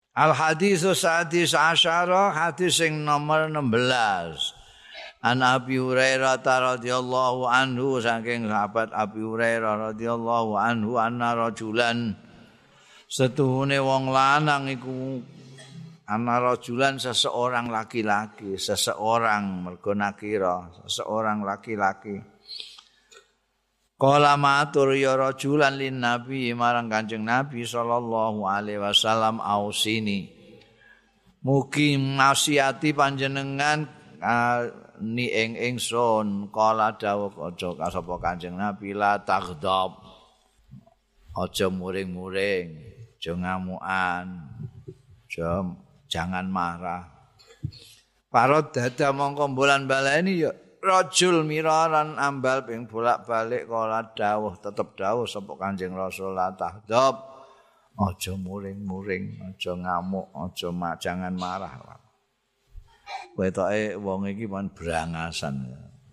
Al haditsus sadis asyara hadis sing nomor 16. An Abi Hurairah radhiyallahu anhu saking sahabat Abi Hurairah radhiyallahu anhu anna rajulan setuhune wong lanang iku ana rajulan seseorang laki-laki, seseorang mergo nakira, seseorang laki-laki. Qala matur ya rajulan lin nabi marang Kanjeng Nabi sallallahu alaihi wasallam ausini. Mugi nasiati panjenengan ni ingsun qala dawuh aja sapa Kanjeng Nabi la taghdab. Aja muring-muring, aja ngamukan. Jangan marah. Parot dada mongko bulan baleni ya rajul miraran ambal ping bolak-balik kala dawuh tetep dawuh sapa Kanjeng Rasul la tahdab. Aja muring-muring, aja ngamuk, jangan marah. Wetoke wong iki mon brangasan.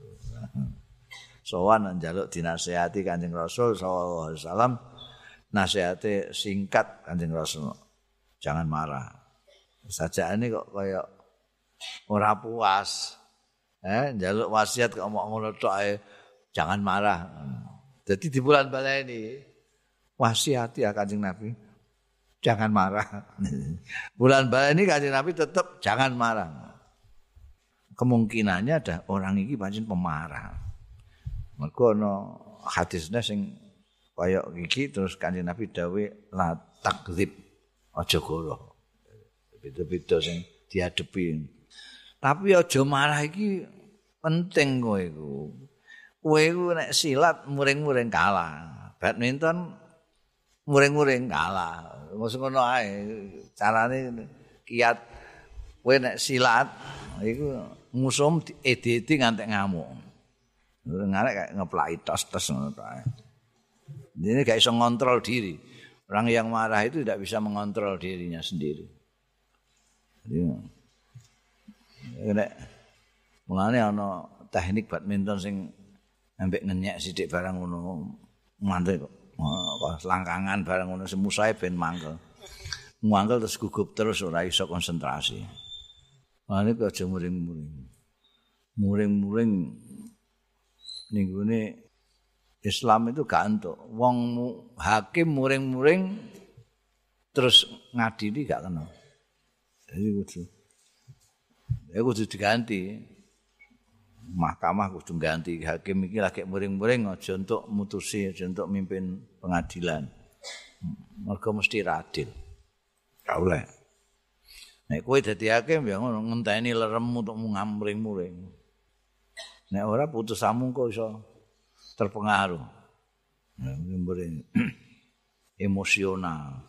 Sowan njaluk dinasihati Kanjeng Rasul sallallahu alaihi wasallam. Nasihate singkat Kanjeng Rasul. Jangan marah. Sajane kok kaya ora puas. Njaluk wasiat kok omong ngono tok ae. Jangan marah. Jadi di bulan baleni wasiati ya Kanjeng Nabi. Jangan marah. Bulan baleni Kanjeng Nabi tetap jangan marah. Kemungkinannya ada orang iki pancen pemarah. Mergo ana hadisnya sing kaya iki terus Kanjeng Nabi dawuh la takdzib. Aja goroh. Beda-beda sing diadepi. Tapi aja marah iki penting kowe iku. Kowe iku nek silat muring-muring kalah. Badminton muring-muring kalah. Mosok ngono ae. Carane kiat kowe nek silat iku musuh edi-edi ngantek ngamuk. Ngarek kayak ngeplaki tos-tos ngono to ae. Ini gak iso ngontrol diri. Orang yang marah itu tidak bisa mengontrol dirinya sendiri. Jadi, mulane ana teknik badminton sing ambek ngenyek sithik barang ngono. Mantek kok. Langkangan barang ngono semusae ben mangkel. Mangkel terus gugup terus ora iso konsentrasi. Mulane kok aja muring-muring. Muring-muring ning gone Islam itu gak entuk. Wong hakim muring-muring terus ngadili gak kena. Jadi kudu diganti. Mahkamah kudu ganti hakim iki lagi muring-muring aja untuk mutusi, aja untuk mimpin pengadilan. Mergo mesti adil. Gak oleh. Nek kowe dadi hakim ya ngono ngenteni leremmu untuk muring-muring. Nek ora putusanmu kok iso terpengaruh. Muring emosional.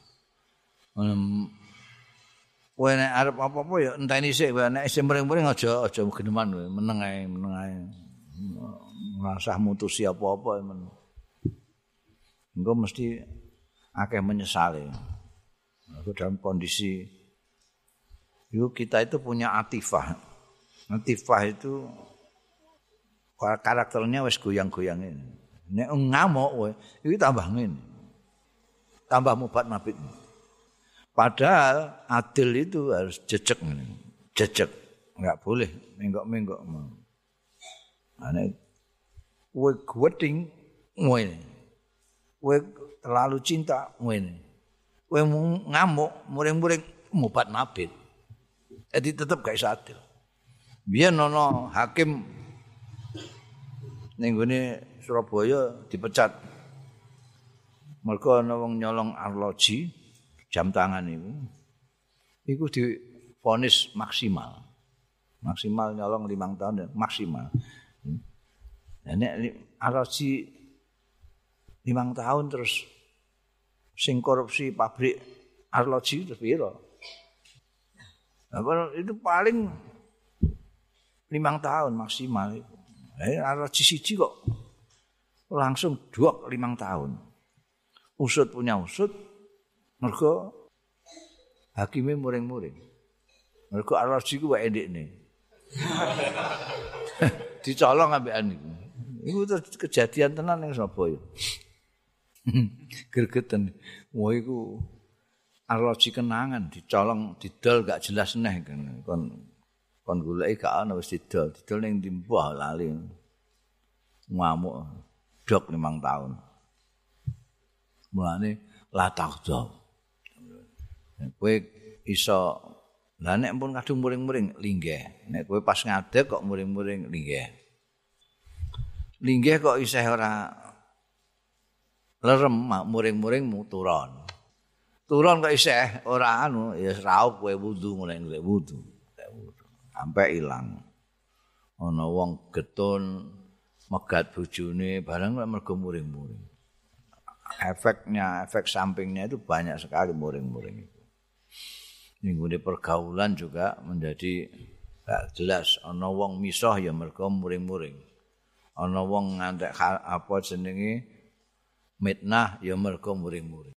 Kowe nek arep apa-apa ya enteni sik, nek isih muring-muring aja geneman kowe, meneng ae. Ngrasah mutusi apa-apa men. Engko mesti akeh menyesali. Dalam kondisi kita itu punya atifah. Atifah itu karakternya wis goyang-goyang ini. Nek ngamuk kowe iki tambah ngene. Tambah mubat mabit. Padahal adil itu harus jejeg ngene. Jejeg, enggak boleh menggok-menggok. Ane kowe gweding ngene. Kowe terlalu cinta ngene. Kowe ngamuk, muring-muring mubat mabit. Jadi tetap gak iso adil. Biyen ana hakim ning gone Surabaya dipecat. Mergo ana wong nyolong arloji jam tangan iku. Iku divonis maksimal. Maksimal nyolong 5 tahun dan maksimal. Nek arloji 5 tahun terus sing korupsi pabrik arloji terus piro? Itu paling 5 tahun maksimal itu. Arloji siji kok langsung 5 tahun. Usut punya usut, mergo hakime muring-muring. Mergo arloji ku wae ndekne. Dicolong ambekan iku. Iku kejadian tenan ning Surabaya. Gregeten. Wah iku arloji kenangan dicolong didol gak jelas neh kon goleki gak ana wis didol ning ndi mbah lali ngamuk dok 5 tahun mulane la takdo kowe iso lah nek pun kadung muring-muring linggih nek kowe pas ngadeg kok muring-muring linggih kok isih ora lerem muring-muring turun kok isih ora anu ya raup kowe wudu mulai wudu sampai ilang ana wong getun megat bojone barang mergo muring-muring efek sampingnya itu banyak sekali muring-muring itu ning pergaulan juga menjadi gak jelas ana wong misah ya mergo muring-muring ana wong ngantek apa jenenge mitnah ya mergo muring-muring